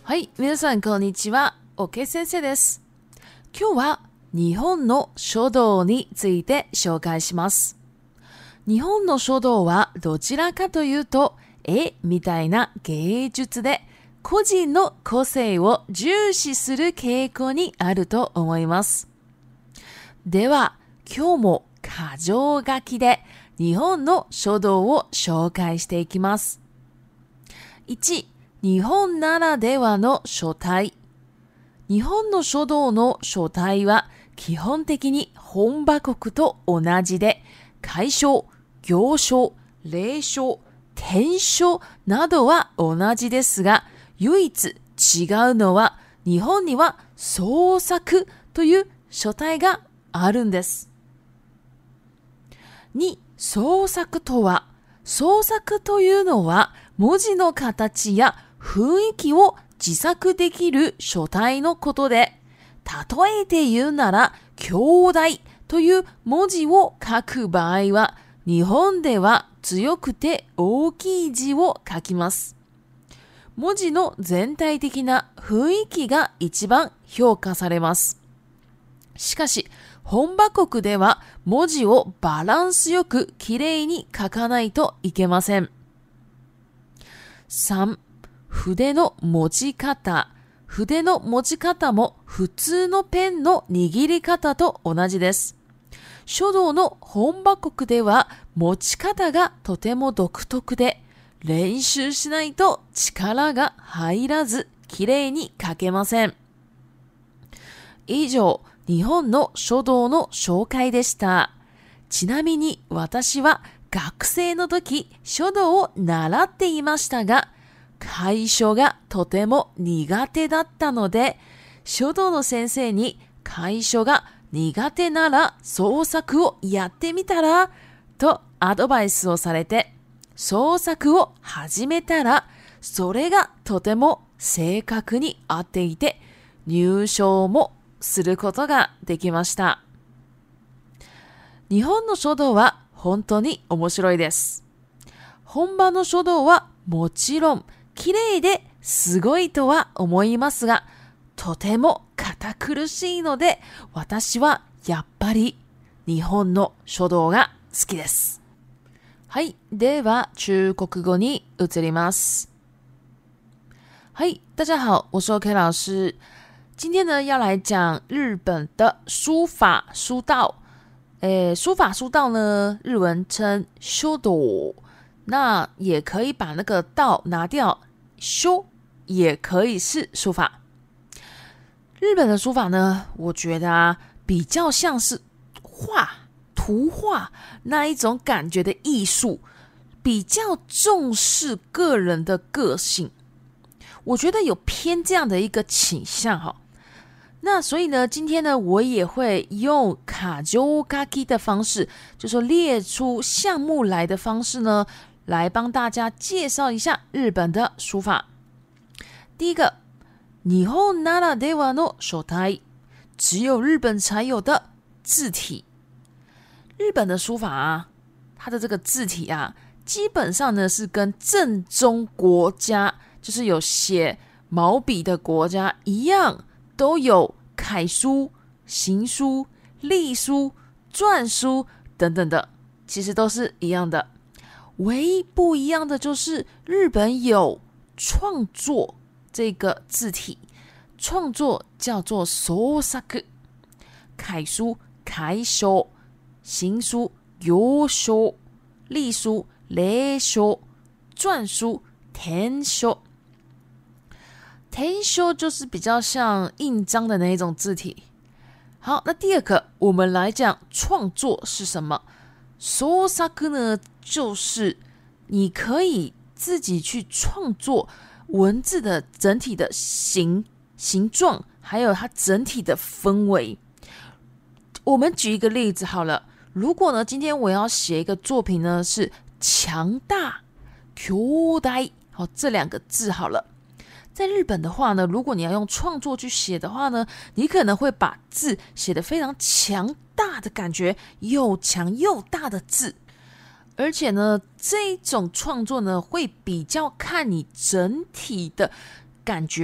はい、皆さんこんにちは。OK 先生です。今日は日本の書道について紹介します。日本の書道はどちらかというと絵みたいな芸術で個人の個性を重視する傾向にあると思います。では今日も箇条書きで日本の書道を紹介していきます。1、日本ならではの書体。日本の書道の書体は基本的に本場国と同じで、楷書、行書、隷書、篆書などは同じですが、唯一違うのは日本には創作という書体があるんです。2、創作とは、創作というのは文字の形や雰囲気を自作できる書体のことで、例えて言うなら、兄弟という文字を書く場合は、日本では強くて大きい字を書きます。文字の全体的な雰囲気が一番評価されます。しかし、本場国では文字をバランスよくきれいに書かないといけません。3、筆の持ち方。筆の持ち方も普通のペンの握り方と同じです。書道の本場国では持ち方がとても独特で、練習しないと力が入らずきれいに書けません。以上、日本の書道の紹介でした。ちなみに私は学生の時書道を習っていましたが、楷書がとても苦手だったので、書道の先生に楷書が苦手なら創作をやってみたらとアドバイスをされて、創作を始めたら、それがとても正確に合っていて、入賞もすることができました。日本の書道は本当に面白いです。本場の書道はもちろん綺麗ですごいとは思いますが、とても堅苦しいので、私はやっぱり日本の書道が好きです。はい、では中国語に移ります。はい、大家好，我是 OK 老师。今天呢要来讲日本的书法书道。书法书道呢，日文称書道，那也可以把那个道拿掉，修也可以是书法。日本的书法呢，我觉得比较像是图画那一种感觉的艺术，比较重视个人的个性，我觉得有偏这样的一个倾向哈。那所以呢，今天呢，我也会用箇条書き的方式，就说列出项目来的方式呢，来帮大家介绍一下日本的书法。第一个，日本ならではの書体，只有日本才有的字体。日本的书法啊，它的这个字体啊，基本上呢是跟正宗国家，就是有写毛笔的国家一样，都有楷书、行书、隶书、篆书等等的，其实都是一样的。唯一不一样的就是日本有创作这个字体，创作叫做創作，楷书楷書、行书行書、隶书隷書、篆书篆書。篆書就是比较像印章的那一种字体。好，那第二个我们来讲创作是什么。創作呢，就是你可以自己去创作文字的整体的形状，还有它整体的氛围。我们举一个例子好了，如果呢今天我要写一个作品呢是强大、強大，好，这两个字好了。在日本的话呢，如果你要用创作去写的话呢，你可能会把字写得非常强大的感觉，又强又大的字。而且呢，这种创作呢，会比较看你整体的感觉，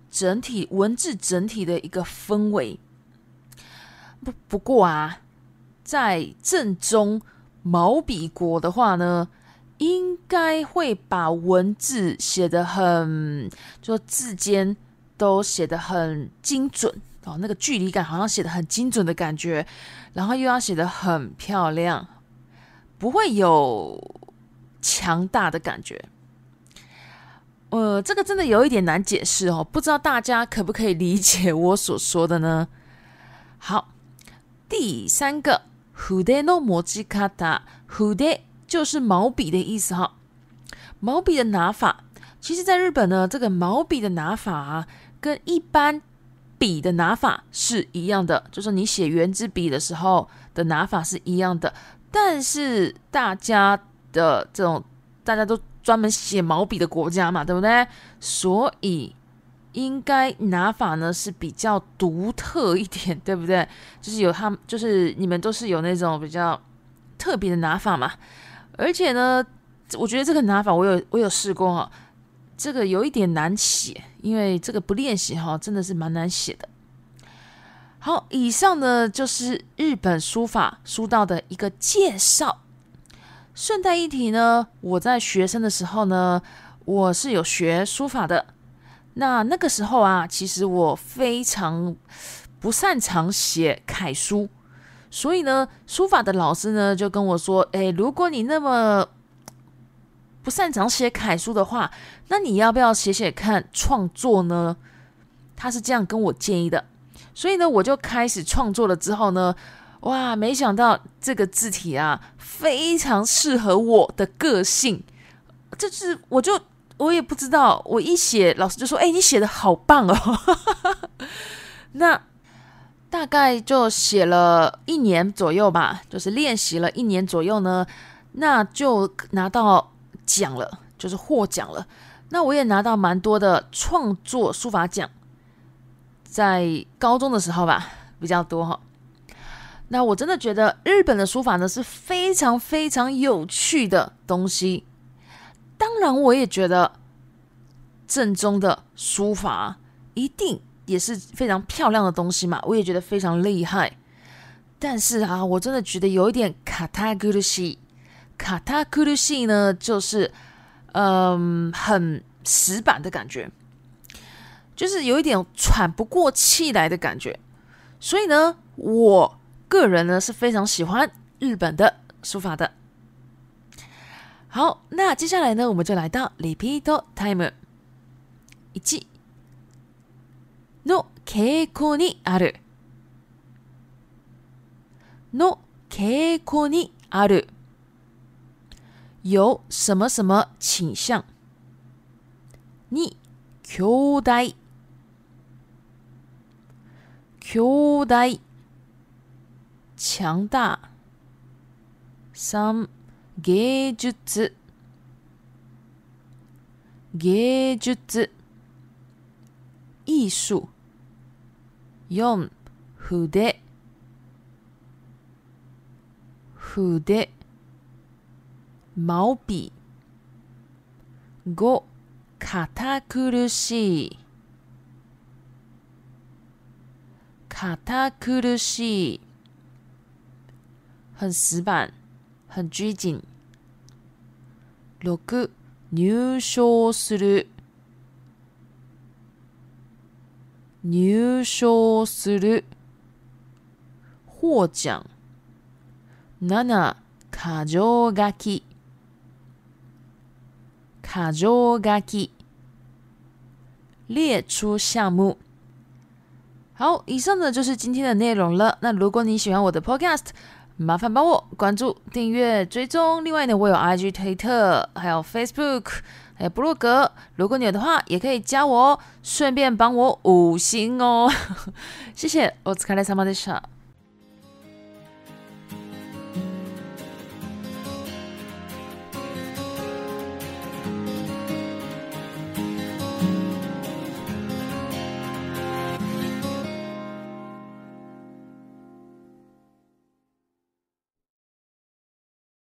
整体文字整体的一个氛围。不过啊，在正宗毛笔国的话呢，应该会把文字写得很，就字间都写得很精准哦，那个距离感好像写得很精准的感觉，然后又要写得很漂亮，不会有强大的感觉。这个真的有一点难解释哦，不知道大家可不可以理解我所说的呢？好，第三个筆の持ち方，筆就是毛笔的意思哈。毛笔的拿法，其实在日本呢，这个毛笔的拿法啊，跟一般笔的拿法是一样的，就是你写圆珠笔的时候的拿法是一样的，但是大家都专门写毛笔的国家嘛，对不对？所以应该拿法呢是比较独特一点，对不对？就是你们都是有那种比较特别的拿法嘛。而且呢，我觉得这个拿法我有试过哈，这个有一点难写，因为这个不练习哈，真的是蛮难写的。好，以上呢就是日本书法书道的一个介绍。顺带一提呢，我在学生的时候呢，我是有学书法的。那个时候啊，其实我非常不擅长写楷书，所以呢，书法的老师呢就跟我说：“如果你那么不擅长写楷书的话，那你要不要写写看创作呢？”他是这样跟我建议的。所以呢，我就开始创作了。之后呢，哇，没想到这个字体啊，非常适合我的个性。就是我也不知道，我一写，老师就说：“你写的好棒哦。”那大概就写了1年左右吧，就是练习了1年左右呢，那就拿到奖了，就是获奖了。那我也拿到蛮多的创作书法奖，在高中的时候吧，比较多哈。那我真的觉得日本的书法呢是非常非常有趣的东西。当然，我也觉得正宗的书法一定也是非常漂亮的东西嘛，我也觉得非常厉害。但是啊，我真的觉得有一点堅苦しい。堅苦しい呢，就是很死板的感觉，就是有一点喘不过气来的感觉。所以呢，我个人呢是非常喜欢日本的书法的。好，那接下来呢，我们就来到 repeat time。1の傾向にあるの傾向にある，有什么什么倾向。2、強大強大強大。3、芸術芸術艺术。4、筆筆毛筆。5、堅苦しい堅苦しい，很死板，很拘谨。6、入賞する入賞する获奖。7、箇条書き箇条書き列出项目。好，以上呢就是今天的内容了。那如果你喜欢我的 podcast， 麻烦帮我关注、订阅、追踪。另外呢，我有 IG、推特，还有 Facebook， 还有部落格。如果你有的话，也可以加我哦，顺便帮我5星哦。谢谢，お疲れ様でした。